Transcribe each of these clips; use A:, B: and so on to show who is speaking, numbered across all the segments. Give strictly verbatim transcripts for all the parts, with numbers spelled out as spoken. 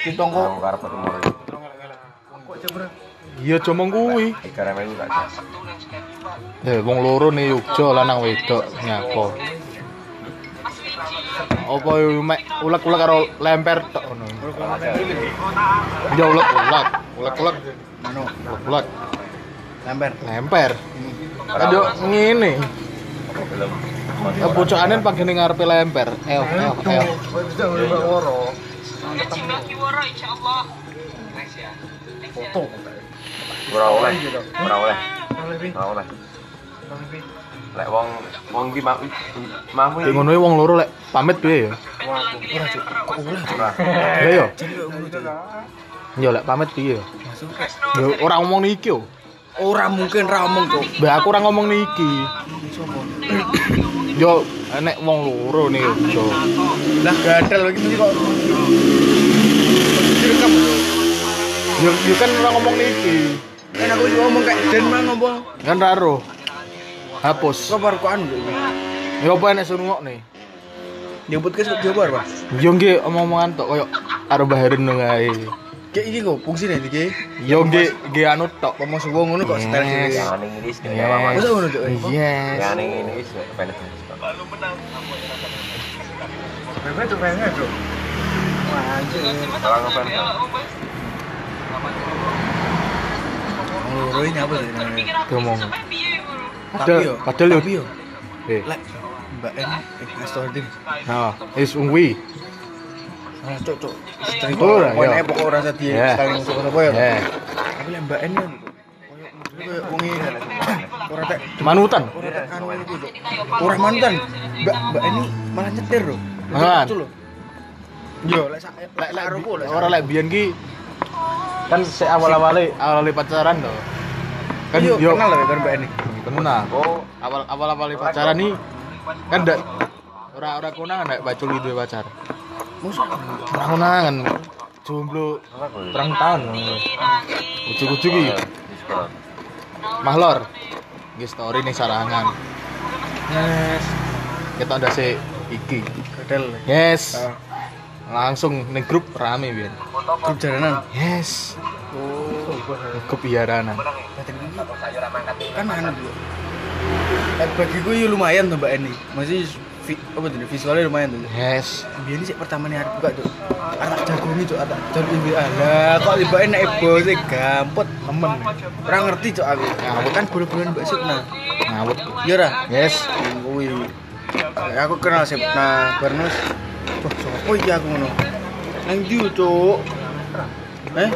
A: Cintong kok.
B: Karep timur.
A: Kok jebret.
C: Iya cuma kuwi.
B: Ikan melu gak.
C: Eh wong loro nih Yogya lanang wedok nyapa. Apa yo mek ulek-ulek karo lemper tok ngono. Ya ulek-ulek, ulek-ulek.
A: Mano,
C: Ulek-ulek.
A: lemper.
C: Lemper. Ayo ngene.
B: Belum.
C: Kebocokane pagene ngarepe lemper. Eh, eh, eh.
A: Bisa udah woro.
D: Kiwara insyaallah.
A: Foto.
B: Ora oleh. Ora oleh. Ora oleh. Lek wong wong iki mau mau
C: Kayak ngono wong loro lek pamit piye ya?
A: Ora cuk. Kok ulah cuk.
B: ora.
C: Lah yo.
A: Jadi kok ngono cuk.
C: Yo lek pamit piye ya? Yo ora ngomong niki yo.
A: Ora mungkin ra omong cuk.
C: Mbak aku ora ngomong niki.
A: Sopo?
C: Yo enek wong loro nih yo.
A: Lah gadal iki kok. Direkam lho.
C: Yo yo kan ora ngomong niki.
A: Kan aku juga ngomong kayak Den mah ngomong.
C: Kan raro. Hapus.
A: Kok baru koan lho.
C: Yo apa enek sungokne?
A: Nyebut kes kok jabar, Pak.
C: Yo nggih omong-omongan tok koyo karo baharin ngae.
A: Kayak iki kok fungsine iki.
C: Yo nggih nggih anu tok.
A: Ngomong suwo ngono kok setel sini.
B: Yang ning ini sing
C: Yes.
B: apa.
A: Masa ngono cuk.
C: Yes.
B: Yang ning ini wis kepenet.
A: Bebe tuh pengen cuk. Wah, anjir.
B: Ora ngopen.
A: Loro ini apa sih?
C: Ngomong.
A: Tapi yo,
C: Padahal yo.
A: tapi yo.
C: Eh.
A: Lek Mbak N eh Astordin.
C: Nah, is ungwi.
A: Ah, cuk cuk. Istri
C: Oh,
A: kok
C: iya.
A: kowe pokok ora di
C: Yeah.
A: sekali musuh apa ya.
C: Eh,
A: Tapi lek Mbak N kan koyo koyo wong iki ora tek
C: manutan.
A: ora tek anu iku cuk. Ora mantan. Mbak Mbak ini malah nyetir lho.
C: Mangan.
A: Lucu lho. Yo lek sak lek lek aruku lek
C: Ora lek biyen ki kan sik awal-awale awal pacaran to. Kan
A: yo
C: yo
A: kenal lho kan Mbak ini.
C: kenal. Oh, awal awal-awale pacaran nih kan ndak ora ora konangan nek bacul duwe pacar.
A: Musuh.
C: Ora konangan. Jomblo perang tahun. Ujuk-ujuk iki. Mahlor. Nggih story ning sarangan. Yes. Kita ndase iki.
A: Gadel.
C: Yes.
A: Ah.
C: Langsung ning grup rame biyen.
A: Grup jalanan.
C: Yes.
A: Oh,
C: Grup biaranan.
A: kan anu dulu. Eh, bagiku ya lumayan tuh Mbak Eni. Masih vi, apa tuh visualnya lumayan tuh.
C: Yes.
A: Biar ini sih pertama nih buka tuh. Anak jago nih tuh, anak jago ini lah. Kok Mbak Eni naik bos sih gampet temen. Kurang ngerti cok aku. Aku kan bulan-bulan Mbak Sukna.
C: Ngawut.
A: Iya dah.
C: Yes.
A: Wih. Aku kenal Sukna Bernus. Wah, sopo iki aku ngono. Nang ndi cok? Eh?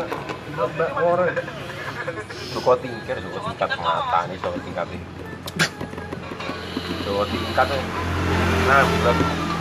B: Joko tingkir, Joko tingkat mata nih, Joko tingkat ini. Joko tingkat tuh. Nah, bukan.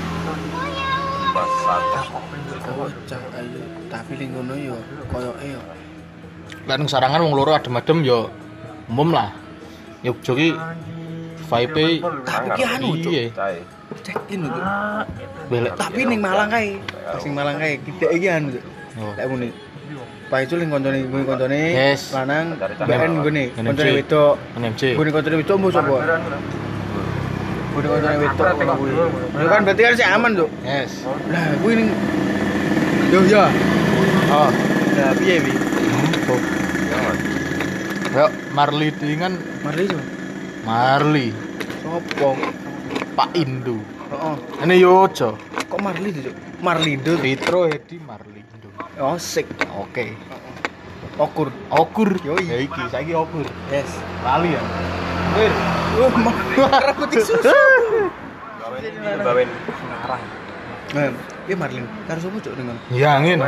B: Basat.
A: Bocah ayo, tapi ning ngono yo koyoke yo.
C: Lah ning sarangan wong loro adem-adem yo umum lah. Yogyo ki vibe
A: Tapi ki anu cok.
C: iya.
B: Cai.
A: Check in lho. Cuk.
C: Belek.
A: Tapi ning Malang kae, pas ning Malang kae kita iki anu. Cuk.
C: Oh.
A: Lek muni. Pak itu ning koncone kuwi koncone
C: Yes.
A: lanang
B: Dari
A: B N gone,
C: N M C.
A: koncone wedok.
C: N M C.
A: Gone koncone wedok mbo sapa? Gone koncone wedok kuwi. Lha kan berarti kan sih aman, Cuk.
C: Yes.
A: Lah kuwi ning yo yo.
C: Oh.
A: Lah piye wi?
C: Tuh. Yo Marli dengan
A: Marli Cuk.
C: Marli
A: Sopo?
C: Pak Indu.
A: Heeh.
C: Ini Yojo.
A: Kok Marli Cuk? Marlindo.
C: Fitro Hedi Marli Indu.
A: Oh, sik.
C: Oke.
A: Okur.
C: Okur.
A: Yoi.
C: Ya iki saiki okur.
A: Yes.
C: Lali ya. Wir.
A: Oh, marah putih susu.
B: Bawen, bawen.
A: Nah, iya Marlin. Karo sopo Cuk ning ngono?
C: Ya angin.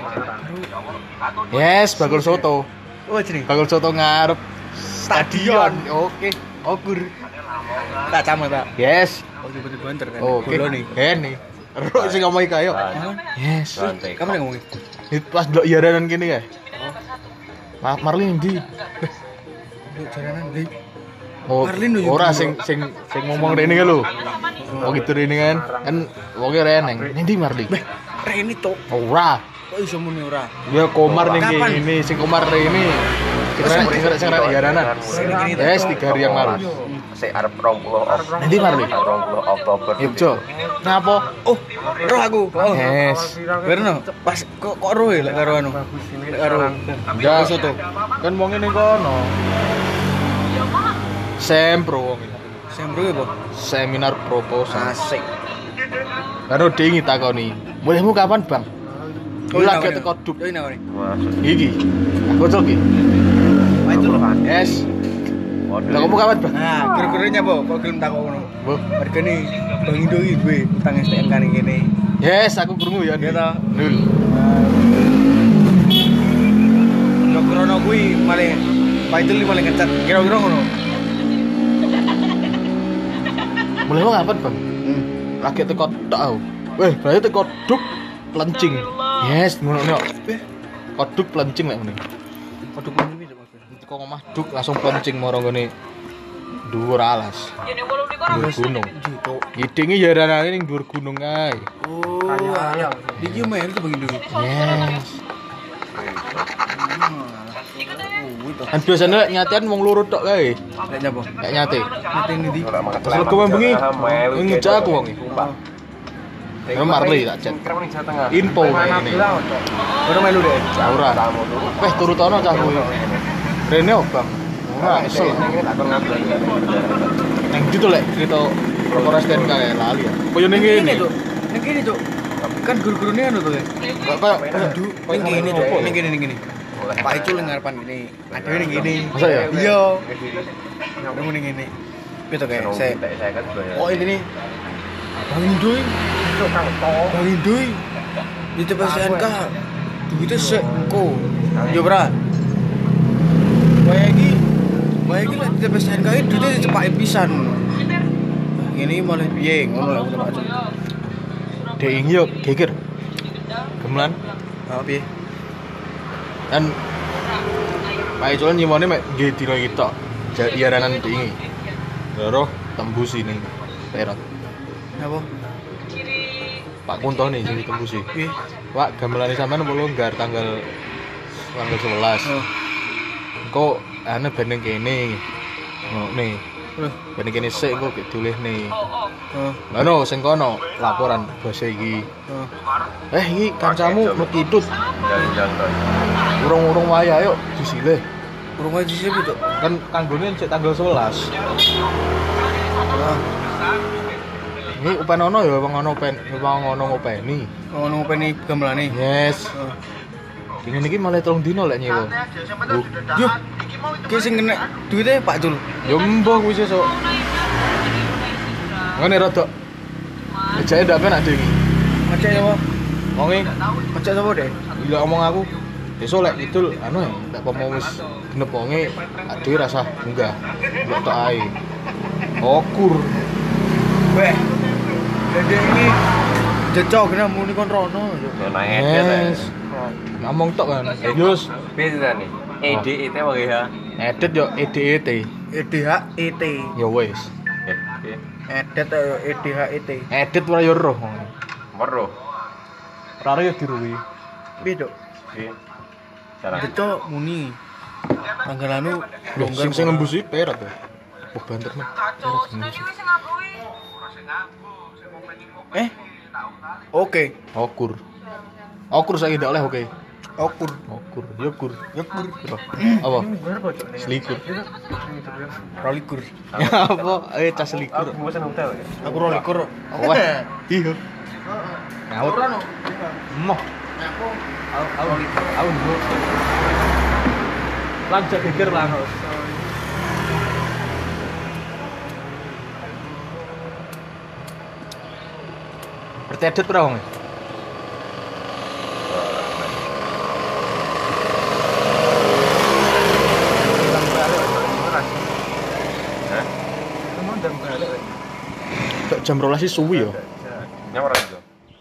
C: Yes, bakul soto.
A: Oh, jeneng.
C: Bakul soto ngarep stadion. Oke. Okur.
A: Tak sama tak.
C: Yes.
A: Oh, tiba-tiba banter kan.
C: Oke.
A: Bola nih.
C: Ini. Ero sing ngomong iki ayo. Yes.
B: Rantai.
A: Kamu yang ngomongin?
C: Itu pas delok iaranan kene kae. Maaf Marlin ndi?
A: Yuk jalanan deh.
C: Oh,
A: Marlin lho,
C: ora
A: yuk.
C: sing sing sing ngomong rene kan lho. Oh gitu rene kan. Kan wonge reneng. Ndi Marlin?
A: Beh, Reni tok.
C: Ora.
A: Kok iso muni ora?
C: Ya Komar ning
A: Kapan?
C: kene, sing Komar rene. Sing rene sing rene iaranan.
A: Sing kene.
C: Yes, tiga hari yang lalu.
B: sik arep dua puluh Oktober.
C: Nanti mari.
B: dua puluh Oktober.
C: Yogyo. Ngapa?
A: Oh, roh aku. Oh.
C: Yes.
A: Berno, pas kok kok roh ya lek karo anu. Lek karo
C: Ya
A: soto.
C: kan wong ning kono. Sempro wong iki.
A: Sembro ya, Bos.
C: Seminar proposal.
A: Asik.
C: Karo dingi takoni. Mulaimu kapan, Bang?
A: Oh,
C: Lagi
A: ini
C: teko duk.
A: Ini apa nih?
C: Iki. Bocor iki.
A: Apa itu loh?
C: Yes. Lah kamu kapan, Bang?
A: Nah, guru-gurunya, Bo, kok gelem takok ngono.
C: Bu.
A: Hargane Bang Indo iki duwe utang S T N kan kene.
C: Yes, aku krungu ya.
A: Ya ta?
C: Nul.
A: Yo krono kuwi malah Pak itu malah ngecat kira-kira ngono.
C: Mulaimu kapan, Bang?
A: Hmm.
C: Lagi teko tok aku. Weh, berarti teko duk plencing. Yes, ngono nek. Koduk plencing lek ngene.
A: Kodok ini bisa Mas.
C: Teko omah duk langsung plencing moro ngene. Dhuwur alas. Dhuwur gunung. Ngidingi ya ranane ning dhuwur gunung kae.
A: Oh, iki mer itu Bang Indo.
C: Yes. Kan biasanya lek nyatean wong loro tok kae.
A: Lek nyapa?
C: Lek nyate.
A: Mati ini di.
C: Terus lego bengi. Ngejak aku wong iki. Ya Marley tak chat. Info ngene.
A: Ora melu deh.
C: Ora. Weh turutono cah kuwi. Rene obang. Ora esel. Nang gitu lek cerita perkara S T N K kae lali ya. Koyo ning
A: Ini
C: ngene.
A: tuh. Ning kene tuh. Kan guru-gurune anu tuh.
C: Kok koyo
A: Ning kene tuh. Ning kene ning kene. Pak itu ning ngarepan gini. Ada ning kene.
C: Masa ya?
A: Iya. Nemu ning kene. Piye to kayak saya. Oh ini nih. Bang Indo. Bang Indo. Di T P S N K. Duitnya sek ko. Yo bra. Kayak iki. Kayak iki lek di T P S N K iki duitnya dicepake pisan. Ini malah piye ngono lek aku tak.
C: Dek ing yo geger. Gemelan
A: Ah piye?
C: kan Pak Icolan nyimone mek nggih dina iki tok. Jaranan dingi. Loro tembus ini perot.
A: Apa?
C: Pak Kunto nih sing ditembusi.
A: Piye?
C: Pak gamelane sampean apa longgar tanggal tanggal sebelas.
A: Oh.
C: Kok ane beneng kene. Ngono nih.
A: Loh.
C: Beneng kene sik kok ditulis nih.
A: Oh.
C: Ngono sing kono laporan basa iki.
A: Oh.
C: Eh iki kancamu mekidut.
B: Jalan-jalan.
C: Urung-urung wayah yuk disilih.
A: Urung aja sih itu.
C: Kan kanggone sik tanggal sebelas.
A: Ah,
C: Ini upenono ya wong ono pen, wong ono ngopeni.
A: ngono ngopeni gamelane.
C: Yes.
A: Oh.
C: Dingin iki malah telung dino lek nyewa.
A: Yo. Ki sing kena duite Pak Jul.
C: Yo mbah kuwi sesuk. Ngene rada. Ejake ndak penak dingi.
A: Ngecek apa?
C: Wong e
A: Ngecek apa deh?
C: gila ngomong aku. Besok lek idul anu ya, ndak pomo wis genep wonge dhewe rasa munggah. Mbok tok ae. Okur.
A: Weh. Dede ini jecok kena muni kon rono.
B: Naik ya.
C: Yes. Ngomong tok kan. Yus,
B: Beda nih. E D E T wae ya.
C: edit yo E D E T.
A: E D H E T.
C: Ya wis.
A: Edit ayo E D H E T.
C: Edit ora yo roh.
B: Meruh.
C: Ora yo diruwi.
A: Piye, Dok?
B: Piye? Cara.
A: Jecok muni. Tanggal anu
C: Loh, sing sing ngembusi perat ya. Oh, banter men. Perat ngembusi.
A: Eh? Oke.
C: Okur. Okur saiki ndak oleh oke.
A: Okur.
C: Okur, yo kur. Yo kur. Apa? Selikur.
A: Rolikur.
C: Apa? Eh, cas selikur.
B: Aku bosan hotel ya.
A: Aku rolikur.
C: Wah, iya. Ngawut. Emoh.
A: Aku rolikur.
C: Aku nduk. Lanjut geger lah. Bertedet ora wong? Tok jam rolas sih suwi yo.
B: Nyawar aja.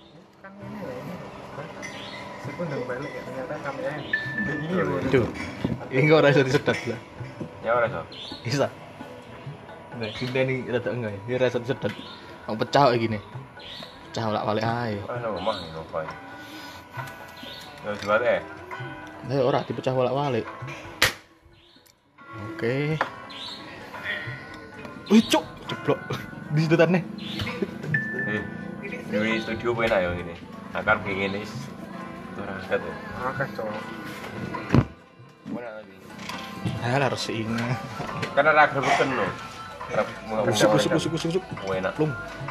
C: Tuh. Ini kok ora iso disedat lah.
B: Nyawar aja.
C: Bisa. Enggak, kita ini rada enggak ya. Ini rasa disedat. Wong pecah kok gini. Pecah bolak-balik ae.
B: Ah, rumah nih apa ya? Yo jual eh.
C: Lah ora dipecah bolak-balik. Oke. Wih, cuk, jeblok. Di situ tane.
B: Eh, di studio apa enak ya ini? Akar kayak gini. Ora angkat ya.
A: Akeh cok.
B: Mana lagi?
C: Ah, lah resik ini.
B: Karena raga beken loh.
C: Kusuk kusuk kusuk kusuk kusuk.
B: Enak.
C: Plung.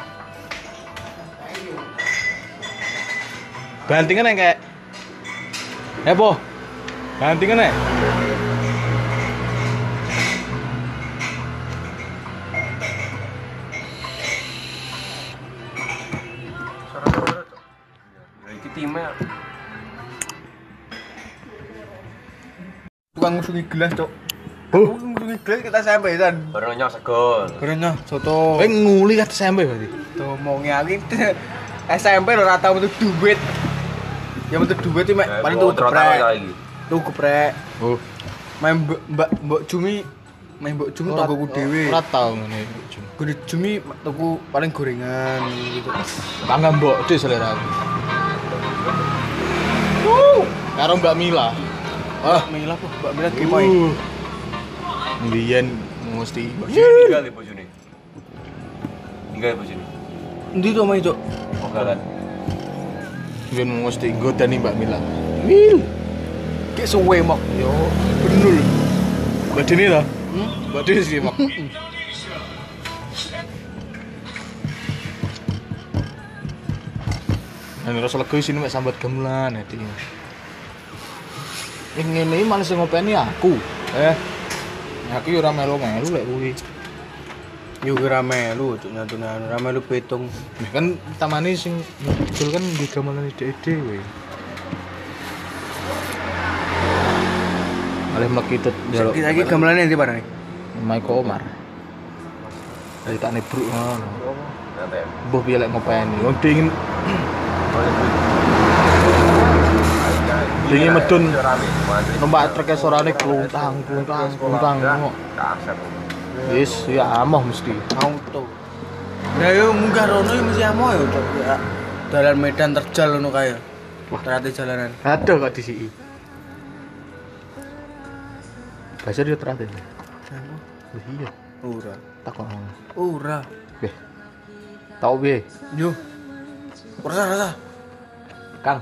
C: Bantingan yang kayak Eh, po. Bantingan ya?
A: Suara-suara cok.
B: Iki timnya
A: Tukang ngusungi gelas cok.
C: Oh.
A: Ngusungi gelas kita sampai kan.
B: baru nyok segon.
A: Kerennya soto.
C: Eh nguli kata sampe berarti.
A: Tuh mau ngiali S M P lo rata untuk duit. Ya untuk duit itu mek paling tuh geprek.
B: lagi.
A: Tuh geprek.
C: Oh.
A: Main mbak mbak mbak Cumi, main mbak Cumi tonggoku dhewe.
C: Ora tau ngene.
A: Gede Cumi tuku paling gorengan gitu.
C: Bangga mbok dhe selera aku. Uh, karo Mbak Mila.
A: Ah, Mila kok Mbak Mila gimana?
C: Uh. Mbiyen mesti
B: Tinggal di bojone. Tinggal di bojone.
A: Endi to main cok?
B: Mogalan.
C: mbiyen mesti nggodani Mbak Mila. Wil.
A: Kayak suwe mok.
C: Yo, benul. Mbak Dini to?
A: Hmm?
C: Mbak Dini sih, Mak. Nek rasa lega sini mek sambat gamelan ati. Ing ngene iki malah sing ngopeni aku. Eh. Aku yo ora melu-melu lek kuwi.
A: Yo ora melu cok nyatunan, ora melu petung.
C: Nah, kan tamane sing ngedol kan di gamelan dhek dhewe. Oleh mlekit jaluk.
A: Iki lagi gamelane ndi parane?
C: Maiko Omar. Dari tak nebruk ngono.
B: Nanti.
C: Mbah piye lek ngopeni. Wong dingin dingin medun. Numpak trek sorane kluntang, kluntang, kluntang.
B: Kasep.
C: Wis ya amoh mesti.
A: Auto. Lah yo munggah rono yo mesti amoh yo cok. Ya, dalan medan terjal ngono kae.
C: Wah.
A: Terate jalanan.
C: Aduh kok disiki. Bahasa dia terakhir. Oh, iya.
A: Ora.
C: Takon.
A: Ora.
C: Weh. Tau piye?
A: Yo. Ora ora.
C: Kang.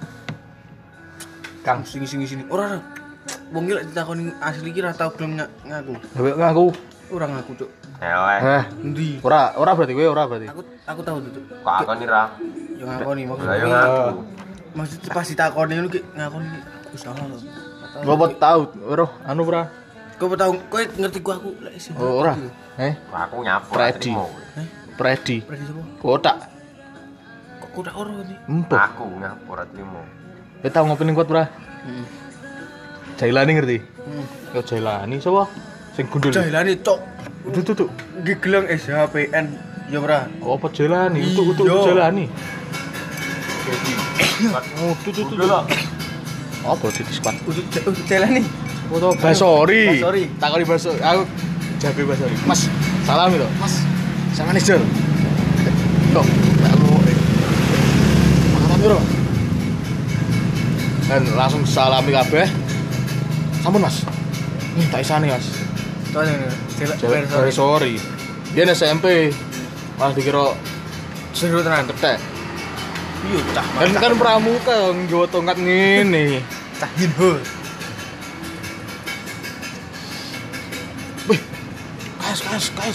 A: Kang sing sing sini. Ora ora. Wong iki lek ditakoni asli iki ora tau gelem ngaku.
C: Dewek ngaku.
A: Ora ngaku, Cuk.
B: Eleh.
C: Heh.
A: Endi?
C: Ora, ora berarti kowe ora berarti.
A: Aku aku tahu tuh, Cuk.
B: Kok akoni ra?
A: Yo ngakoni
B: Lah yo
A: maksudnya.
B: ngaku.
A: Maksudnya pas ditakoni ngono ki ngakoni aku salah lho.
C: Ngopo tahu, ora anu ora.
A: Kau tahu, kau ngerti gua aku lek sing.
C: Oh, ora. Eh,
B: Kok aku nyapur.
C: Predi.
A: Heh?
C: Predi.
A: Predi sapa?
C: Kotak.
A: Kok kau tak ora iki?
C: Empuk.
B: Aku nyapur trimo.
C: Kowe tau ngopi ning kot ora?
A: Heeh.
C: Jailani ngerti?
A: Heeh.
C: Yo Jailani sapa? Sing gundul.
A: Jahilane cok.
C: Tuh tuh tuh.
A: Iki gelang S H P N ya ora.
C: Apa Jailani? Untuk untuk
A: Iya.
C: Jailani.
B: Jadi.
C: Oh, tuh tuh tuh.
B: Udah lah.
C: Apa di squad?
A: Untuk untuk Jailani.
C: Foto Basori.
A: Basori.
C: Takoni Basori. Aku jabe Basori. Mas, salam lho. Mas, sama nih, Jor. Kok, aku Makasih piro? Dan langsung salami kabeh. Sampun, Mas. Nih, tak isane, Mas.
A: Soalnya Jailani.
C: Jabe Basori. Dia S M P. Malah dikira
A: Seru tenan.
C: ketek.
A: Iya, cah.
C: Kan kan pramuka nggawa tongkat ngene.
A: cah Hinho.
C: Wih. Kas, kas, kas.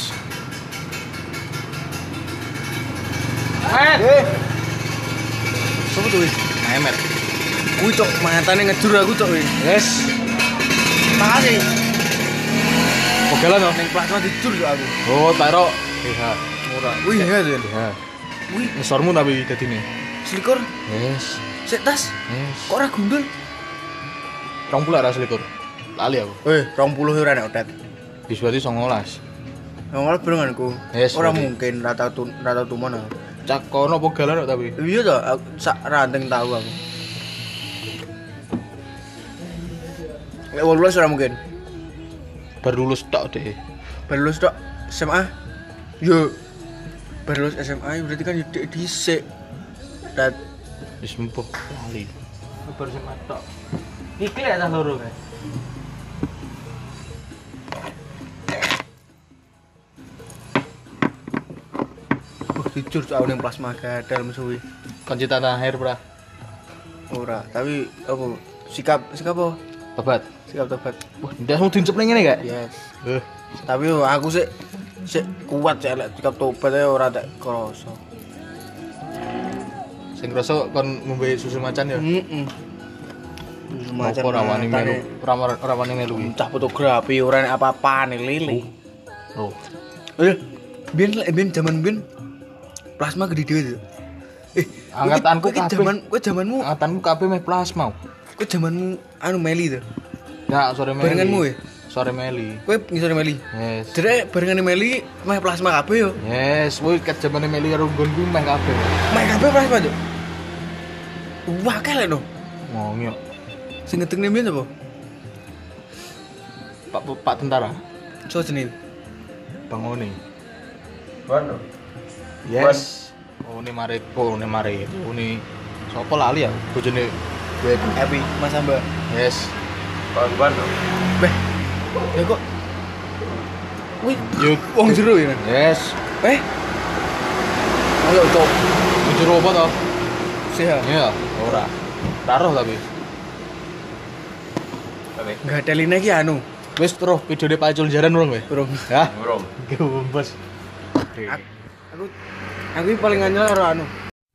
A: Eh. Sopo tuh wis?
C: Memer.
A: Kuwi cok mangantane ngejur aku cok wis.
C: Yes.
A: Makasih.
C: Pogelan to.
A: Ning plasma dijur cok aku.
C: Oh, taro. Iya.
A: Ora. Wih, ya tuh.
C: Iya.
A: Wih,
C: Ngesormu tapi dadine.
A: selikur.
C: Yes.
A: Sik tas.
C: Yes.
A: Kok ora gundul?
C: Rong puluh ra selikur. Lali aku.
A: Eh, dua puluh ora nek otet.
C: Wis berarti songolas.
A: Ngomong berenganku.
C: Yes,
A: Ora
C: berarti.
A: mungkin rata tun rata tumon aku.
C: Cak kono pogelan kok tapi.
A: Iya toh, aku sak ranteng tahu aku. Lek wolulas ora mungkin.
C: Baru lulus tok deh.
A: Baru lulus tok S M A. Yo. Baru lulus S M A berarti kan dhisik dhisik. Dat
C: Wis empuh lali. Baru sing tok. Iki lek tas loro kae.
A: jujur soal ning plasma gatal musuhi.
C: Kunci tanah air, Bra.
A: Ora, tapi apa sikap sikap apa?
C: Tobat.
A: Sikap tobat.
C: Wah, ndak mau dincep ning ngene gak?
A: Yes.
C: Eh,
A: Tapi yo, aku sih sik kuat sih lek sikap tobat ae ora tak krasa.
C: sing krasa kon ngombe susu macan ya.
A: Heeh. Semacam
C: Apa ora wani melu, ora ora wani melu.
A: cah fotografi ora nek apa-apa nih lili.
C: Oh.
A: Eh, biyen lek biyen jaman biyen plasma gede dhewe tuh. Eh,
C: Angkatanku
A: kowe
C: kabeh.
A: jaman kowe jamanmu
C: Angkatanku kabeh meh plasma.
A: kowe jamanmu anu Meli tuh.
C: Ya, sore Meli.
A: Barenganmu ya?
C: Sore Meli.
A: Kowe ngisore Meli.
C: Yes.
A: Jere barengane Meli meh plasma kabeh yo.
C: Yes, kuwi ket jamane Meli karo nggonku meh kabeh.
A: Meh kabeh plasma tuh. Wah, kele no.
C: Ngomyo.
A: Sing ngetekne mbiyen apa?
C: Pak Pak tentara.
A: So jenenge.
C: Bang Oni.
B: Bueno.
C: Yes. Oh, ini mari, oh, ini mari. Oh, ini sopo lali ya? Bojone gue.
A: Happy Mas Amba.
C: Yes.
B: Bang Bueno.
A: Beh. Ya kok wih,
C: Yuk,
A: wong jero ya.
C: yes.
A: Eh. Ayo cok.
C: Jujur apa toh?
A: Sehat.
C: Iya, ora. Taruh tapi.
B: Oke.
A: Enggak ada lina iki anu.
C: Wis terus videone pacul jaran urung kowe?
A: Bro.
C: Ya.
B: Burung.
C: Gembes.
A: Aku aku iki paling anyar karo anu.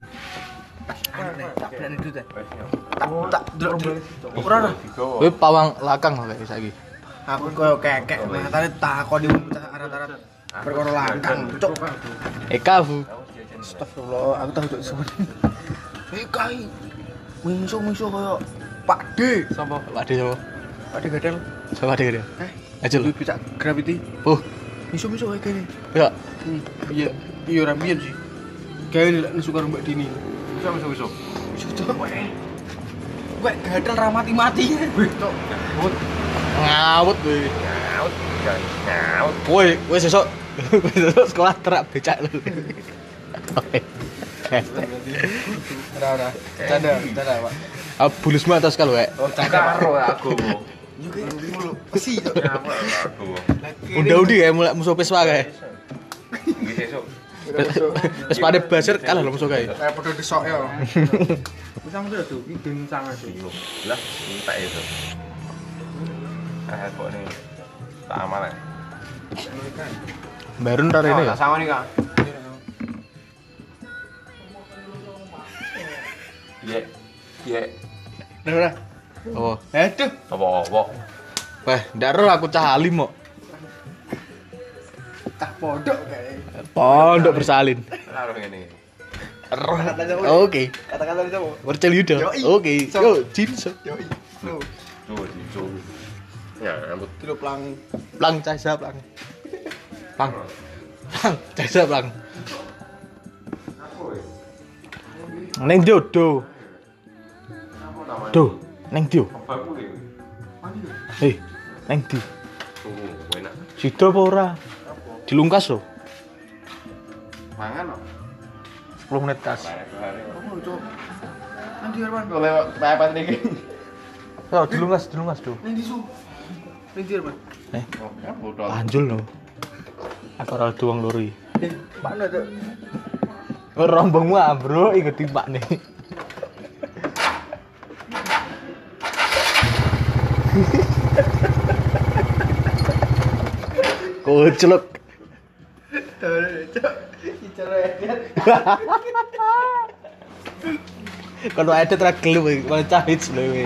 A: Tak berani dulu ta. Tak tak delok. Ora ora.
C: Kowe pawang lakang kok kayak saiki.
A: Aku koyo kekek matane takoni arat-arat perkara langkang. Cuk.
C: Eka Bu.
A: Astagfirullah, aku tahu cuk suwen. Eh kai. Mingsu-mingsu koyo Pak D.
C: Sopo? Pak De sopo?
A: Pak D gadel.
C: Sopo Pak De?
A: Eh,
C: Ajul.
A: lu bisa gravity.
C: Oh,
A: Mingsu-mingsu kayak gini.
C: ya.
A: Iya, iya ora biyen sih. Kayak nek suka Mbak Dini.
B: Bisa bisa bisa.
A: Cocok wae. Wek gadel ra mati-mati. Cuk.
C: Ngawut kowe.
B: Nyaut. Nyaut.
C: Kowe, kowe sesuk kowe sesuk sekolah terak becak lu. Oke.
A: Ora ora. Canda, canda, Pak.
C: Ah, bulusmu atas kalau, Wek.
A: Oh, canda
B: Karo aku.
A: juga mulu. Besi cuk.
B: Nyamuk aku.
C: Udah-udah kayak mulai musuh peswa kayak.
B: Iki sesuk.
C: Wis pada basir kalah lho musuh kayak.
A: Kayak padha desok ya. Wis sampe tuh iki ben sangat sih.
B: Lah, tak itu. Ah, kok ini tak aman ya.
C: Baru ntar ini ya.
B: Tak sama nih, Kak. Iya. Iya.
A: Udah udah.
C: Oh,
A: Aduh.
B: Apa-apa.
C: weh, ndak ero aku cah alim kok.
A: Tak podok kayak.
C: Pondok bersalin.
B: Taruh ngene.
C: Ero.
A: Kata-kata apa?
C: Oke.
A: Kata-kata itu apa?
C: Percel yuda.
A: Yoi.
C: Oke.
A: So.
C: Yo, jinso.
A: Yo, lu.
B: Tuh, tuh. Ya, ampun.
A: Dulu pelang.
C: Plang cahsa plang. Plang. Plang cahsa plang. Neng do do. Do, neng do.
B: Apa aku iki?
C: Hei, neng di.
B: Tuh, enak.
C: Sido apa ora? Dilungkas lho.
B: Mangan kok.
C: sepuluh menit kas.
A: Oh, cok. Nanti Arman.
B: Kok lewat papan iki.
C: Yo, dilungkas, dilungkas do.
A: Nanti su. Nanti Arman.
C: Eh,
B: Oh, ya bodol.
C: panjul lho. Aku ora duwang loro iki.
A: Eh, mana tuh?
C: Rombongmu ambro inget timpak nih. Koclok.
A: Tuh, cok. Bicara edit.
C: Kalau ada tra gelem iki, kalau cahit lho iki.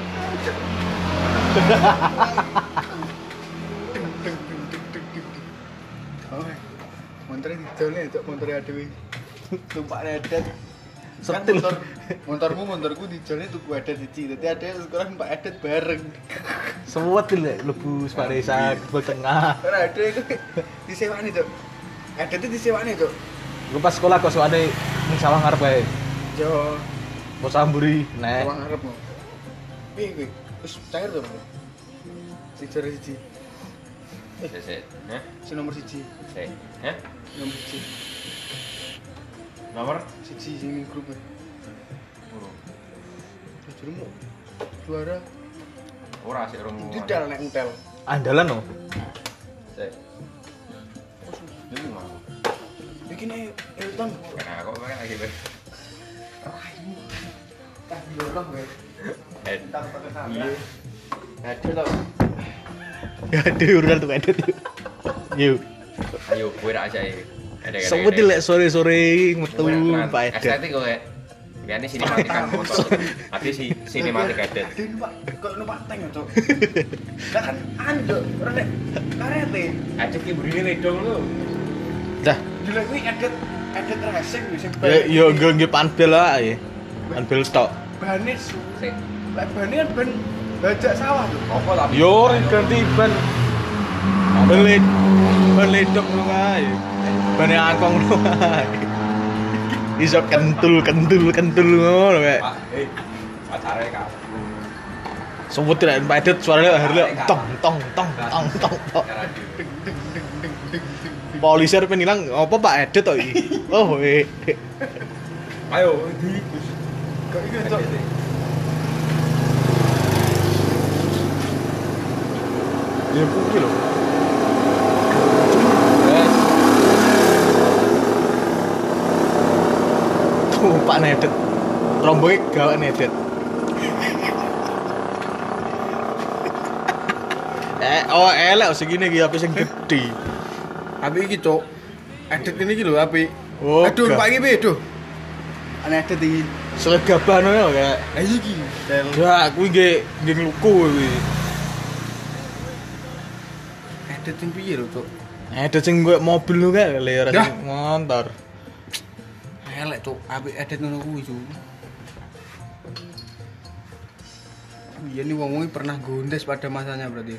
A: Oh, montore didolne cok montore adewe. Tumpak edet.
C: Setil.
A: Motor, motormu motorku dijolne tuku edet siji. Dadi ade sekarang Pak Edet bareng.
C: Sewet lho lebu Sparesa ke tengah.
A: Ora ade iku disewani cok. Edet itu disewani cok.
C: Gue pas sekolah kok soalnya ning sawah ngarep kae.
A: Jo,
C: Mau samburi, nek.
A: uang arep mau. Piye kuwi? Wis cair to, Bro? Siji ora siji.
B: Sik, sik. Hah?
A: Si nomor siji.
B: Sik. Hah?
A: Nomor siji.
B: Nomor?
A: Siji sing ning grup e.
B: Burung.
A: Jujurmu juara
B: Ora sik rong.
A: didal nek entel.
C: Andalan no.
B: Sik. Jadi mau.
A: Iki nih Elton.
B: Nah, kok makan lagi, Bang?
A: Tak dorong, Bang.
B: Entar pakai kamera.
A: Ada tau.
C: Ada urusan tuh edit. Yuk.
B: Ayo, kowe ra aja iki.
C: Semut lek sore-sore metu Pak Edet.
B: Estetik kok kayak ini sinematik kan motor. Ati si sinematik Edet.
A: Aduh, Pak. Kok numpak tank, Cok. Lah kan ando rene karete.
B: Edet ki burine ledong lho.
C: Dah.
A: Gila kuwi Edet Edet racing lho sing
C: Ya yo nggo panbel ae. Panbel tok.
A: bane su.
B: Sik.
A: Lek bane kan ben bajak sawah lho.
B: Apa tapi
C: Yo ganti ban. Beli beli dok lu ae. Bane angkong lu ae. Iso kentul kentul kentul ngono kae.
B: Pak, eh. Pacare Kak.
C: Sebut tidak padet suaranya akhirnya tong tong tong tong tong. tong. Poliser penilang apa Pak Edet to iki? Oh, eh.
B: Ayo, di
A: Kok iki, Cok?
C: Ya kuwi lho. Wes. Tuh Pak Nedet. Romboke gawe Nedet. eh, oh elek segini iki api sing gedhi.
A: Api iki, Cok. Edet ini iki lho api.
C: Oh,
A: Aduh,
C: gak.
A: Pak iki piye, Duh? Ana Edet iki.
C: Selegaban ya kayak.
A: Lah iki. Del.
C: Ya, kuwi nggih nggih ngluku kuwi.
A: Edet sing piye lho, Cok?
C: Ada sing gue mobil lu kayak ler
A: Dah.
C: motor.
A: Elek, Cok. Api Edet ngono kuwi, Cok. Iya nih wong wong pernah gondes pada masanya berarti.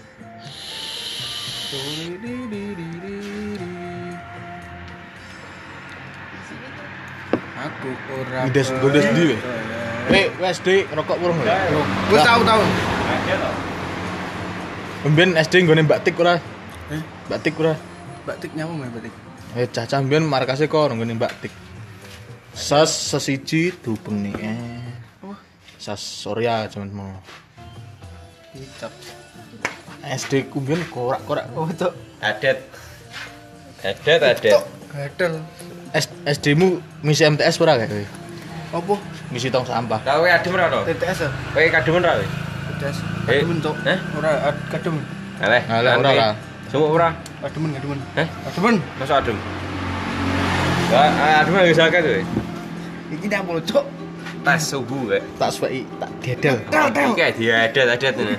A: Aku ora
C: Gondes gondes ndi we? Eh, wes D rokok urung lho.
A: Wis tahu tahu.
B: Aja to.
C: Mben S D nggone Mbak Tik ora?
A: Eh,
C: Mbak Tik ora?
A: Mbak Tik nyamu Mbak Tik.
C: Eh cacah mben markase kok nggone Mbak Tik. Sas sesiji dubeng nih. Eh.
A: Oh,
C: Sas Surya cuman mau.
A: kicap.
C: S D ku mben korak-korak.
A: Oh, Cok.
B: Adet. Adet, adet.
A: Gadel.
C: S SD-mu misi M T S ora kae kowe?
A: Apa?
C: Misi tong sampah.
B: Lah kowe adem ora to?
A: T T S ya?
B: Kowe kademen ra kowe?
A: T T S.
B: Eh,
A: Kademen, Cok.
B: eh?
A: Ora ad- kademen.
B: Aleh.
C: Alah, ora, ora.
B: Semua ora.
A: Kademen, kademen.
B: Heh?
A: Kademen.
B: Masa adem? Lah, adem wis akeh to.
A: Iki nang polo, Cok.
B: Tas subuh kae.
C: Tak suweki tak dedel.
A: Tel, tel.
B: Iki kayak diadet-adet ngene.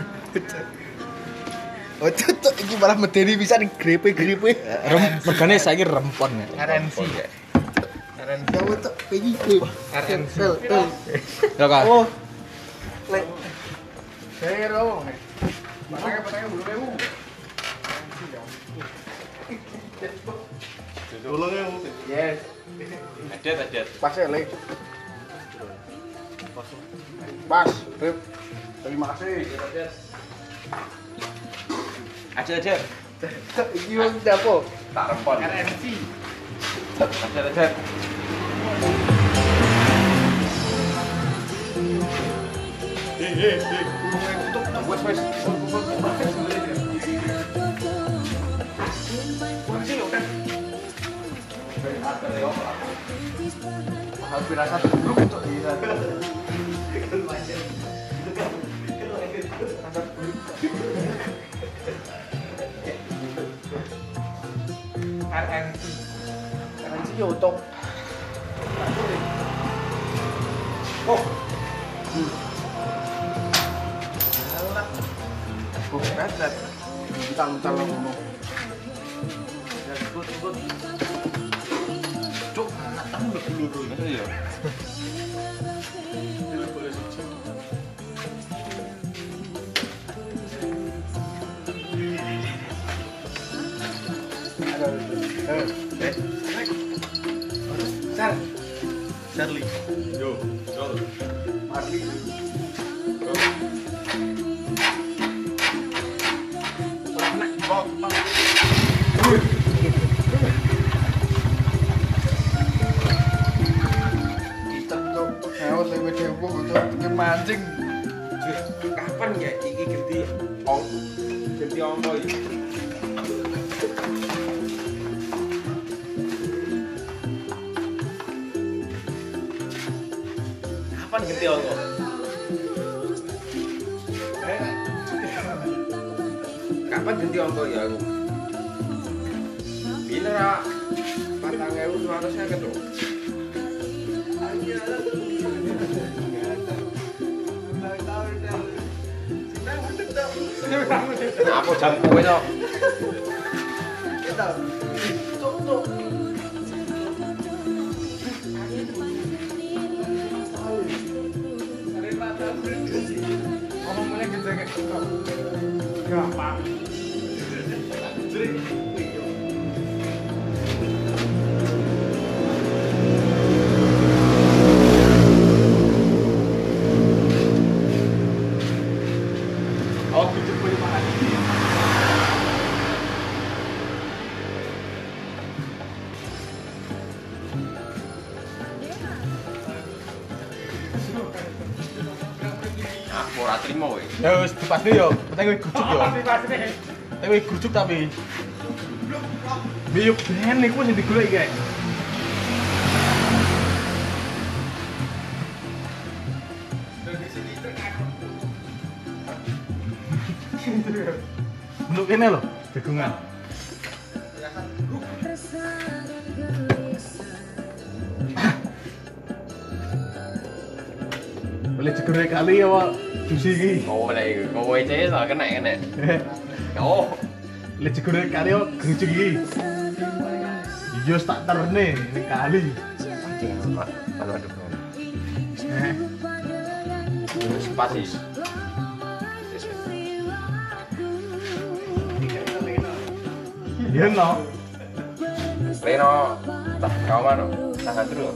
A: Oh, Cok, iki malah medeni bisa ning grepe-grepe.
C: Rem megane saiki rempon ya.
A: R N C. R N C. Kamu Cok, iki. R N C. Tel, tel.
C: Ya kan?
A: Oh. Lek. Saya ro. Patangnya patangnya bulu lewu. Bulu lewu. Yes.
B: Adet, adet.
A: Pas ya, Lek. Pas, Rip. Terima kasih.
B: Adet, adet.
A: Iki wong dapo?
B: Tak rempon.
A: R N C.
B: Adet, adet.
A: Eh, eh, eh. Tutup, tutup. Wes, wes. Kursi udah. Mahal pirasat dulu untuk di sana. R N C. R N C YouTube. Oh. Alah. Oh, berat. Tang-tang ngomong. Ya, good, good. Cuk, anak tamu udah dulu.
B: Masa ya?
A: Eh, Sar. Charlie.
B: Yo, yo.
A: Marley. Anak kok. Kita tuh hewan lewat dewo tuh mancing.
B: Kapan ya iki ganti ong ganti ongko iki? Kapan ganti aku? Kapan ganti aku ya aku? Bila ra patang ewu dua ratus saya ketuk. Apa jamku itu?
A: Ngomongnya gitu kayak gampang.
C: Oh, gitu boleh makan.
B: Aku ora trimo kowe.
C: Ya wis dipasne yo, penting kowe grujuk yo. Tapi kowe grujuk tapi. Biyuk ben iku sing digoleki kae. Untuk ini loh, jagungan. Boleh jagungan kali ya, Pak. Jusi iki.
B: Kowe lek iku, kowe cek sak kena kena. Oh,
C: Boleh jagungan kali ya, gerujuk iki. Iya, tak terne ini kali.
B: anjing Pak. Aduh aduh.
C: Eh,
B: Wis pas sih.
C: iya no.
B: Leno, tak kau mana? Tahan dulu.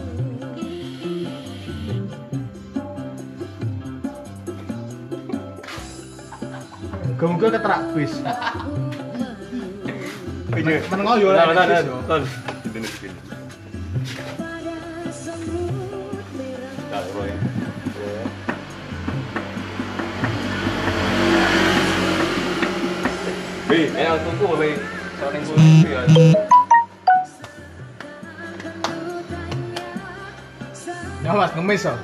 C: Muga-muga keterak bis.
B: Iya.
C: Menengok yo
B: Nah,
C: lah.
B: nah, nah. Ton. Sini sini. Dah, bro ya. Bi, ayo tunggu, Bi. Saya tunggu ya.
C: Ya Mas, ngemis oh.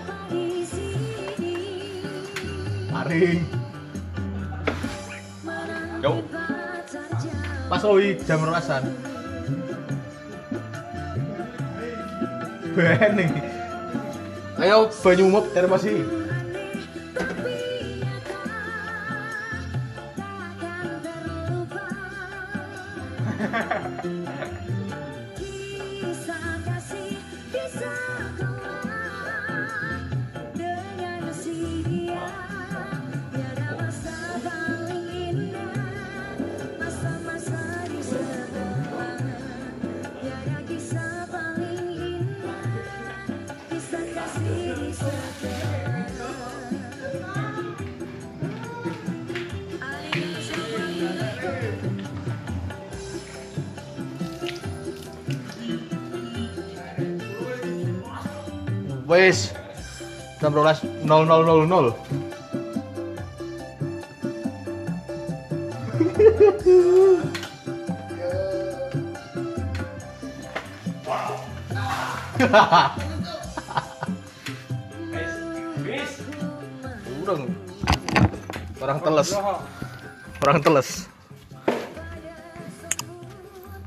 C: Paring.
B: Yo.
C: Pas oi jam roasan. Bening. Ayo banyu umup termosi. Wes jam rolas nol nol nol nol. Urang. Orang teles. Orang teles.